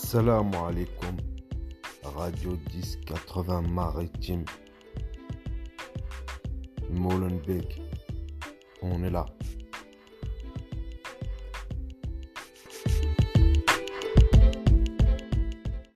Salam alaikum, Radio 1080 Maritime, Molenbeek, on est là.